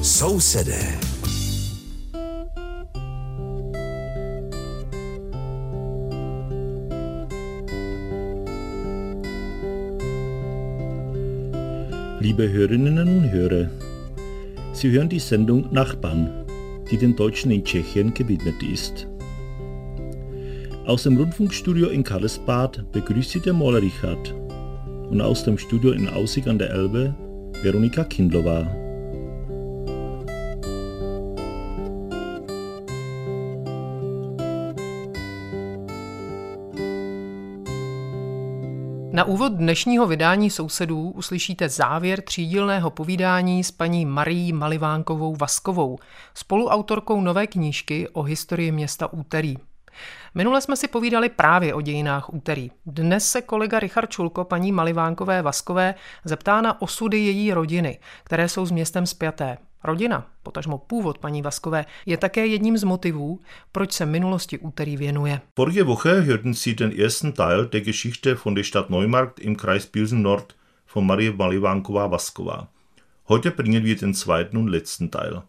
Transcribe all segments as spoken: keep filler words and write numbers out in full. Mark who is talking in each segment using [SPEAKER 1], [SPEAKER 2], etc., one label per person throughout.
[SPEAKER 1] Sousedé.
[SPEAKER 2] Liebe Hörerinnen und Hörer, Sie hören die Sendung Nachbarn, die den Deutschen in Tschechien gewidmet ist. Aus dem Rundfunkstudio in Karlsbad begrüßt Sie der Maler Richard und aus dem Studio in Aussig an der Elbe Veronika Kindlová.
[SPEAKER 3] Na úvod dnešního vydání Sousedů uslyšíte závěr třídílného povídání s paní Marií Malivánkovou Vaskovou, spoluautorkou nové knížky o historii města Úterý. Minule jsme si povídali právě o dějinách Úterý. Dnes se kolega Richard Čulko paní Malivánkové Vaskové zeptá na osudy její rodiny, které jsou s městem spjaté. Rodina, potažmo původ paní Vaskové, je také jedním z motivů, proč se minulosti Úterý věnuje.
[SPEAKER 2] Vorige Woche hörten Sie den ersten Teil der Geschichte von der Stadt Neumarkt im Kreis Pilsen-Nord von Marie Malivánkova Vasková. Heute bringen wir den zweiten und letzten Teil.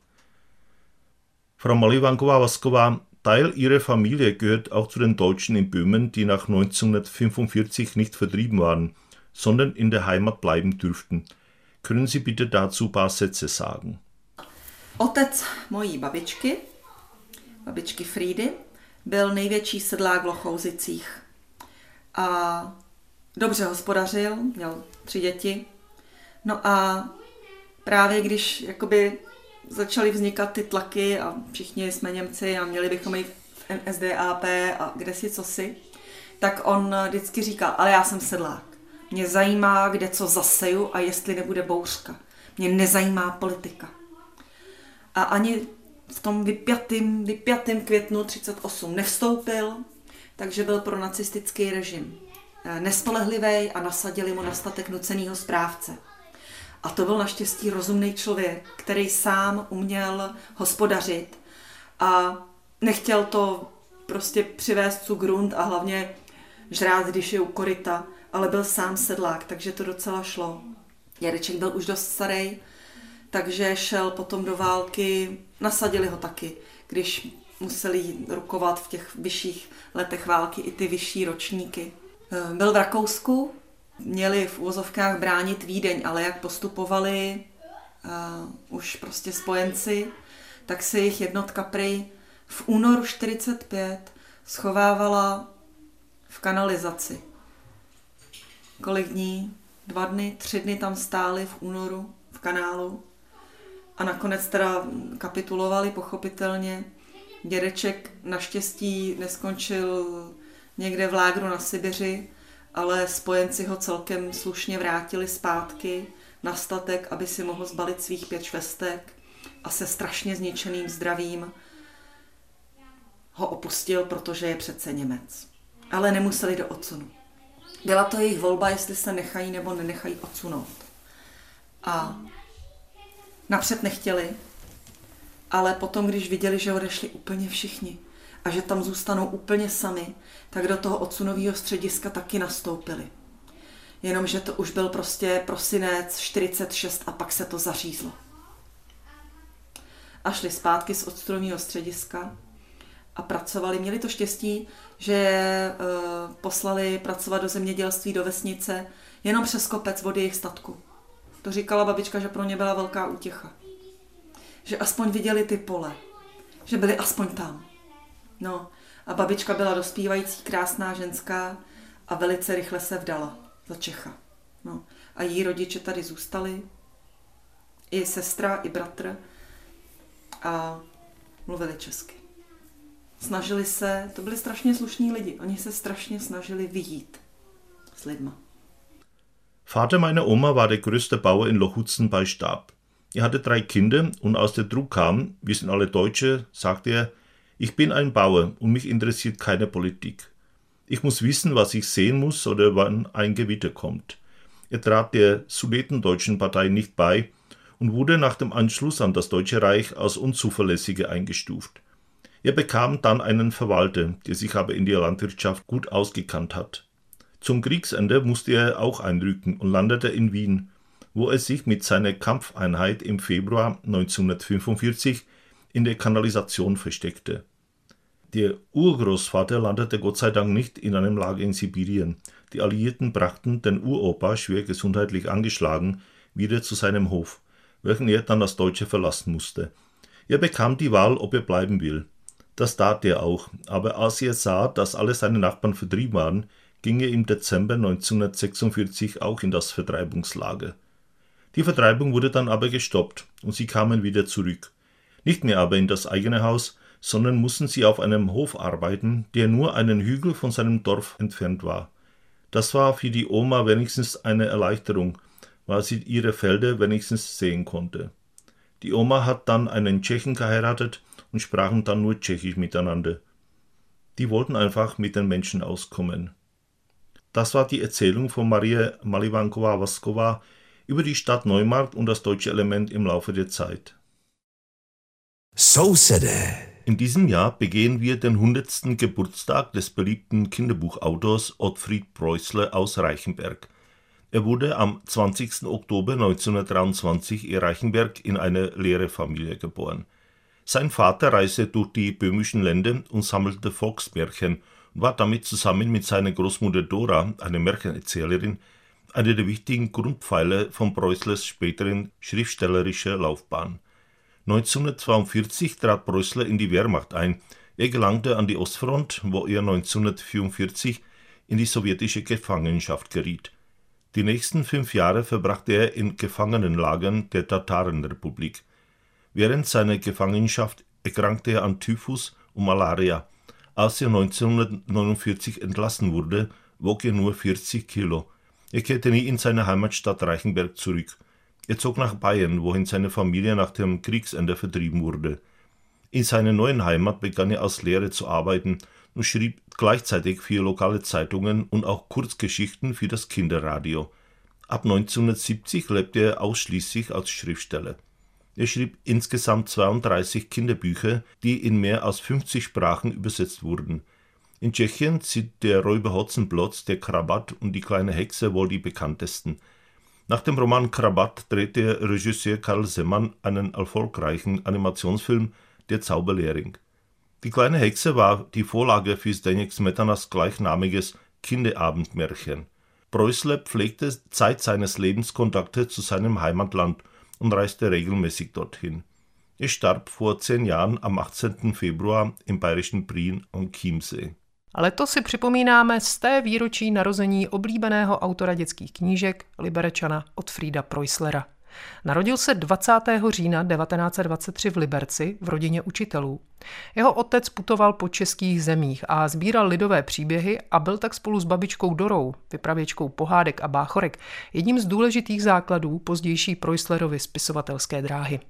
[SPEAKER 2] Frau Malivánkova Vasková, Teil ihrer Familie gehört auch zu den Deutschen in Böhmen, die nach neunzehnhundertfünfundvierzig nicht vertrieben waren, sondern in der Heimat bleiben dürften. Können Sie bitte dazu ein paar Sätze sagen?
[SPEAKER 4] Otec mojí babičky, babičky Frídy, byl největší sedlák v Lochouzicích a dobře hospodařil, měl tři děti. No a právě když jakoby začaly vznikat ty tlaky a všichni jsme Němci a měli bychom jít v N S D A P a kde si cosi, tak on vždycky říkal, ale já jsem sedlák. Mě zajímá, kde co zaseju a jestli nebude bouřka. Mě nezajímá politika. A ani v tom vypjatým, vypjatým květnu třicet osm nevstoupil, takže byl pro nacistický režim nespolehlivý a nasadili mu na statek nucenýho správce. A to byl naštěstí rozumný člověk, který sám uměl hospodařit a nechtěl to prostě přivést zu Grund a hlavně žrát, když je u koryta, ale byl sám sedlák, takže to docela šlo. Dědeček byl už dost starý, takže šel potom do války, nasadili ho taky, když museli rukovat v těch vyšších letech války i ty vyšší ročníky. Byl v Rakousku, měli v uvozovkách bránit Vídeň, ale jak postupovali uh, už prostě spojenci, tak se jejich jednotka prej v únoru čtyřicet pět schovávala v kanalizaci. Kolik dní? Dva dny, tři dny tam stáli v únoru v kanálu a nakonec teda kapitulovali pochopitelně. Dědeček naštěstí neskončil někde v lágru na Sibiři, ale spojenci ho celkem slušně vrátili zpátky na statek, aby si mohl zbalit svých pět švestek a se strašně zničeným zdravím ho opustil, protože je přece Němec. Ale nemuseli do odsunu. Byla to jejich volba, jestli se nechají nebo nenechají odsunout. A napřed nechtěli, ale potom, když viděli, že odešli úplně všichni a že tam zůstanou úplně sami, tak do toho odsunového střediska taky nastoupili. Jenomže to už byl prostě prosinec čtyřicet šest a pak se to zařízlo. A šli zpátky z odsunového střediska a pracovali. Měli to štěstí, že e, poslali pracovat do zemědělství, do vesnice, jenom přes kopec od jejich statku. To říkala babička, že pro ně byla velká útěcha. Že aspoň viděli ty pole. Že byli aspoň tam. No a babička byla dospívající, krásná ženská a velice rychle se vdala za Čecha. No a její rodiče tady zůstali. I sestra, i bratr. A mluvili česky. Snažili se, to byli strašně slušní lidi, oni se strašně snažili vyjít s lidma.
[SPEAKER 2] Vater meiner Oma war der größte Bauer in Lochutzen bei Stab. Er hatte drei Kinder und als der Druck kam, wir sind alle Deutsche, sagte er, ich bin ein Bauer und mich interessiert keine Politik. Ich muss wissen, was ich sehen muss oder wann ein Gewitter kommt. Er trat der Sudetendeutschen Partei nicht bei und wurde nach dem Anschluss an das Deutsche Reich als Unzuverlässige eingestuft. Er bekam dann einen Verwalter, der sich aber in der Landwirtschaft gut ausgekannt hat. Zum Kriegsende musste er auch einrücken und landete in Wien. wo er sich mit seiner Kampfeinheit im Februar neunzehnhundertfünfundvierzig in der Kanalisation versteckte. Der Urgroßvater landete Gott sei Dank nicht in einem Lager in Sibirien. Die Alliierten brachten den Uropa, schwer gesundheitlich angeschlagen, wieder zu seinem Hof, welchen er dann als Deutscher verlassen musste. Er bekam die Wahl, ob er bleiben will. Das tat er auch, aber als er sah, dass alle seine Nachbarn vertrieben waren, ging er im Dezember neunzehnhundertsechsundvierzig auch in das Vertreibungslager. Die Vertreibung wurde dann aber gestoppt und sie kamen wieder zurück. Nicht mehr aber in das eigene Haus, sondern mussten sie auf einem Hof arbeiten, der nur einen Hügel von seinem Dorf entfernt war. Das war für die Oma wenigstens eine Erleichterung, weil sie ihre Felder wenigstens sehen konnte. Die Oma hat dann einen Tschechen geheiratet und sprachen dann nur Tschechisch miteinander. Die wollten einfach mit den Menschen auskommen. Das war die Erzählung von Maria Malivanková-Vaskova über die Stadt Neumarkt und das deutsche Element im Laufe der Zeit.
[SPEAKER 1] Sousede.
[SPEAKER 2] In diesem Jahr begehen wir den hundertsten Geburtstag des beliebten Kinderbuchautors Ottfried Preußler aus Reichenberg. Er wurde am zwanzigsten Oktober neunzehnhundertdreiundzwanzig in Reichenberg in eine Lehrerfamilie geboren. Sein Vater reiste durch die böhmischen Länder und sammelte Volksmärchen und war damit zusammen mit seiner Großmutter Dora, eine Märchenerzählerin, einer der wichtigen Grundpfeiler von Preußlers späteren schriftstellerischer Laufbahn. neunzehnhundertzweiundvierzig trat Preußler in die Wehrmacht ein. Er gelangte an die Ostfront, wo er neunzehnhundertvierundvierzig in die sowjetische Gefangenschaft geriet. Die nächsten fünf Jahre verbrachte er in Gefangenenlagern der Tatarenrepublik. Während seiner Gefangenschaft erkrankte er an Typhus und Malaria. Als er neunzehnhundertneunundvierzig entlassen wurde, wog er nur vierzig Kilo. Er kehrte nie in seine Heimatstadt Reichenberg zurück. Er zog nach Bayern, wohin seine Familie nach dem Kriegsende vertrieben wurde. In seiner neuen Heimat begann er als Lehrer zu arbeiten und schrieb gleichzeitig für lokale Zeitungen und auch Kurzgeschichten für das Kinderradio. Ab neunzehnhundertsiebzig lebte er ausschließlich als Schriftsteller. Er schrieb insgesamt zweiunddreißig Kinderbücher, die in mehr als fünfzig Sprachen übersetzt wurden. In Tschechien sind der Räuber Hotzenplotz, der Krabat und die kleine Hexe wohl die bekanntesten. Nach dem Roman Krabat drehte Regisseur Karl Semann einen erfolgreichen Animationsfilm Der Zauberlehrling. Die kleine Hexe war die Vorlage für Zdeněk Smetanas gleichnamiges Kinderabendmärchen. Preußler pflegte Zeit seines Lebens Kontakte zu seinem Heimatland und reiste regelmäßig dorthin. Er starb vor zehn Jahren am achtzehnten Februar im bayerischen Prien am Chiemsee.
[SPEAKER 3] Letos si připomínáme sté výročí narození oblíbeného autora dětských knížek Liberečana Ottfrieda Preußlera. Narodil se dvacátého října devatenáct set dvacet tři v Liberci v rodině učitelů. Jeho otec putoval po českých zemích a sbíral lidové příběhy a byl tak spolu s babičkou Dorou, vypravěčkou pohádek a báchorek, jedním z důležitých základů pozdější Preußlerovy spisovatelské dráhy.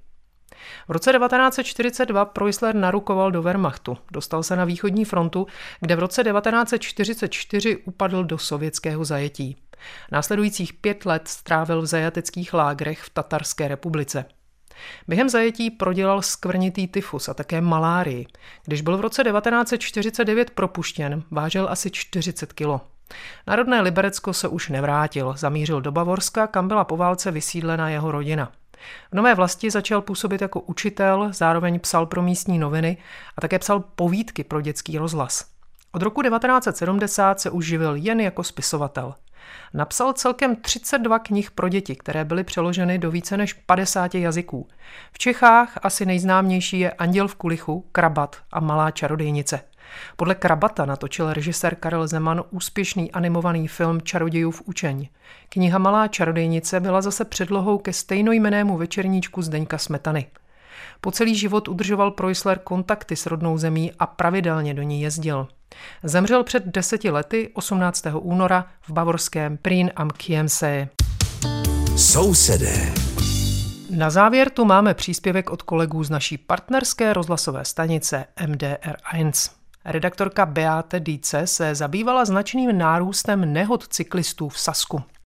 [SPEAKER 3] V roce devatenáct set čtyřicet dva Preußler narukoval do Wehrmachtu, dostal se na východní frontu, kde v roce devatenáct set čtyřicet čtyři upadl do sovětského zajetí. Následujících pět let strávil v zajateckých lágrech v Tatarské republice. Během zajetí prodělal skvrnitý tyfus a také malárii. Když byl v roce devatenáct set čtyřicet devět propuštěn, vážil asi čtyřicet kilo. Na rodné Liberecko se už nevrátil, zamířil do Bavorska, kam byla po válce vysídlena jeho rodina. V nové vlasti začal působit jako učitel, zároveň psal pro místní noviny a také psal povídky pro dětský rozhlas. Od roku devatenáct set sedmdesát se už živil jen jako spisovatel. Napsal celkem třicet dva knih pro děti, které byly přeloženy do více než padesáti jazyků. V Čechách asi nejznámější je Anděl v kulichu, Krabat a Malá čarodejnice. Podle Krabata natočil režisér Karel Zeman úspěšný animovaný film Čarodějův učeň. Kniha Malá čarodejnice byla zase předlohou ke stejnojmennému večerníčku Zdeňka Smetany. Po celý život udržoval Preußler kontakty s rodnou zemí a pravidelně do ní jezdil. Zemřel před deseti lety osmnáctého února v bavorském Prien am Chiemsee.
[SPEAKER 1] Sousedé.
[SPEAKER 3] Na závěr tu máme příspěvek od kolegů z naší partnerské rozhlasové stanice M D R jedna. Redaktorka Beate Dietze se zabývala značným nárůstem nehod cyklistů v Sasku.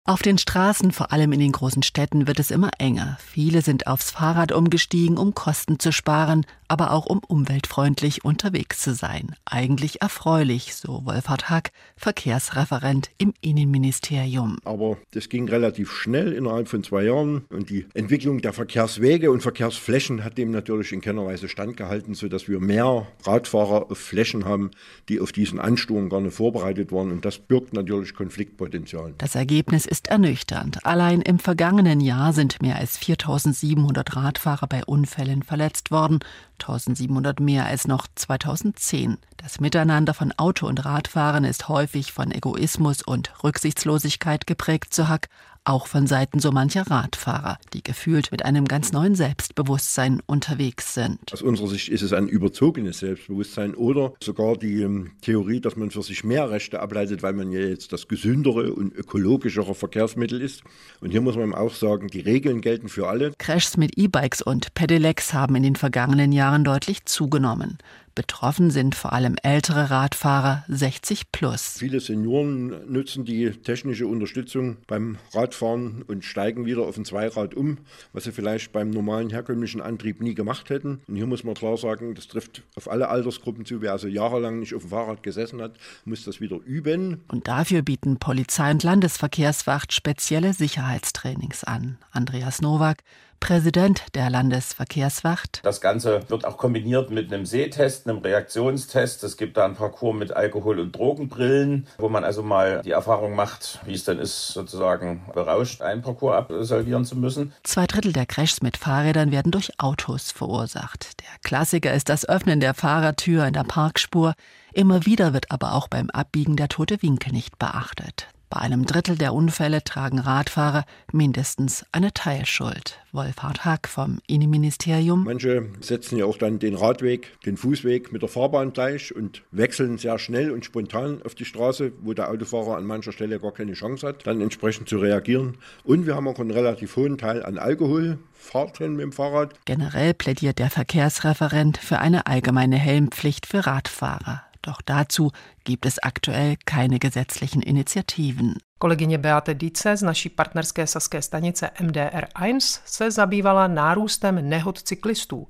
[SPEAKER 1] Auf den Straßen, vor allem in den großen Städten, wird es immer enger. Viele sind aufs Fahrrad umgestiegen, um Kosten zu sparen, aber auch um umweltfreundlich unterwegs zu sein. Eigentlich erfreulich, so Wolfhard Hack, Verkehrsreferent im Innenministerium.
[SPEAKER 5] Aber das ging relativ schnell innerhalb von zwei Jahren und die Entwicklung der Verkehrswege und Verkehrsflächen hat dem natürlich in keiner Weise standgehalten, sodass wir mehr Radfahrer auf Flächen haben, die auf diesen Ansturm gar nicht vorbereitet waren und das birgt natürlich Konfliktpotenzial.
[SPEAKER 1] Das Ergebnis ist ernüchternd. Allein im vergangenen Jahr sind mehr als viertausendsiebenhundert Radfahrer bei Unfällen verletzt worden, eintausendsiebenhundert mehr als noch zweitausendzehn. Das Miteinander von Auto- und Radfahren ist häufig von Egoismus und Rücksichtslosigkeit geprägt, so Hack, auch von Seiten so mancher Radfahrer, die gefühlt mit einem ganz neuen Selbstbewusstsein unterwegs sind.
[SPEAKER 5] Aus unserer Sicht ist es ein überzogenes Selbstbewusstsein oder sogar die ähm, Theorie, dass man für sich mehr Rechte ableitet, weil man ja jetzt das gesündere und ökologischere Verkehrsmittel ist. Und hier muss man auch sagen, die Regeln gelten für alle.
[SPEAKER 1] Crashs mit E-Bikes und Pedelecs haben in den vergangenen Jahren deutlich zugenommen. Betroffen sind vor allem ältere Radfahrer, sechzig plus.
[SPEAKER 5] Viele Senioren nutzen die technische Unterstützung beim Radfahren und steigen wieder auf ein Zweirad um, was sie vielleicht beim normalen herkömmlichen Antrieb nie gemacht hätten. Und hier muss man klar sagen, das trifft auf alle Altersgruppen zu. Wer also jahrelang nicht auf dem Fahrrad gesessen hat, muss das wieder üben.
[SPEAKER 1] Und dafür bieten Polizei und Landesverkehrswacht spezielle Sicherheitstrainings an. Andreas Nowak, Präsident der Landesverkehrswacht.
[SPEAKER 6] Das Ganze wird auch kombiniert mit einem Sehtest, einem Reaktionstest. Es gibt da einen Parcours mit Alkohol- und Drogenbrillen, wo man also mal die Erfahrung macht, wie es denn ist, sozusagen berauscht einen Parcours absolvieren zu müssen.
[SPEAKER 1] Zwei Drittel der Crashs mit Fahrrädern werden durch Autos verursacht. Der Klassiker ist das Öffnen der Fahrertür in der Parkspur. Immer wieder wird aber auch beim Abbiegen der tote Winkel nicht beachtet. Bei einem Drittel der Unfälle tragen Radfahrer mindestens eine Teilschuld. Wolfhard Hack vom Innenministerium.
[SPEAKER 5] Manche setzen ja auch dann den Radweg, den Fußweg mit der Fahrbahn gleich und wechseln sehr schnell und spontan auf die Straße, wo der Autofahrer an mancher Stelle gar keine Chance hat, dann entsprechend zu reagieren. Und wir haben auch einen relativ hohen Teil an Alkoholfahrten mit dem Fahrrad.
[SPEAKER 1] Generell plädiert der Verkehrsreferent für eine allgemeine Helmpflicht für Radfahrer. Doch dazu gibt es aktuell keine gesetzlichen Initiativen.
[SPEAKER 3] Kolegyně Beate Dietze z naší partnerské saské stanice M D R jedna se zabývala nárůstem nehod cyklistů.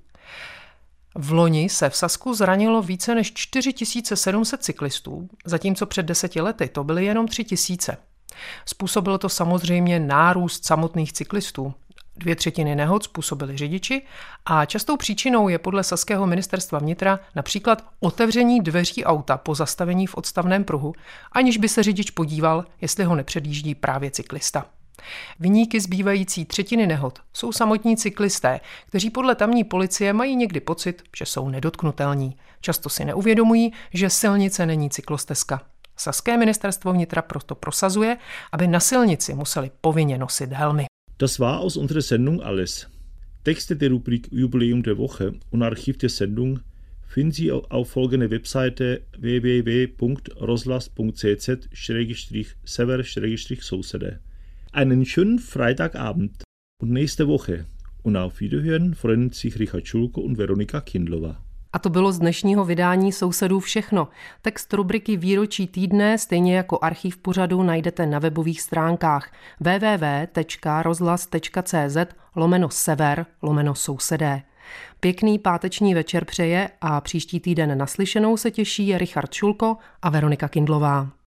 [SPEAKER 3] V loni se v Sasku zranilo více než čtyři tisíce sedm set cyklistů, zatímco před deseti lety to byly jenom tři tisíce. Způsobilo to samozřejmě nárůst samotných cyklistů. Dvě třetiny nehod způsobili řidiči a častou příčinou je podle saského ministerstva vnitra například otevření dveří auta po zastavení v odstavném pruhu, aniž by se řidič podíval, jestli ho nepředjíždí právě cyklista. Viníky zbývající třetiny nehod jsou samotní cyklisté, kteří podle tamní policie mají někdy pocit, že jsou nedotknutelní. Často si neuvědomují, že silnice není cyklostezka. Saské ministerstvo vnitra proto prosazuje, aby na silnici museli povinně nosit helmy.
[SPEAKER 2] Das war aus unserer Sendung alles. Texte der Rubrik Jubiläum der Woche und Archiv der Sendung finden Sie auf folgender Webseite w w w punkt rozhlas punkt c z slash sever slash sousede. Einen schönen Freitagabend und nächste Woche. Und auf Wiederhören freuen sich Richard Schulko und Veronika Kindlová.
[SPEAKER 3] A to bylo z dnešního vydání Sousedů všechno. Text rubriky Výročí týdne, stejně jako archiv pořadu, najdete na webových stránkách w w w tečka rozhlas tečka c z lomeno sever lomeno sousedé. Pěkný páteční večer přeje a příští týden naslyšenou se těší Richard Šulko a Veronika Kindlová.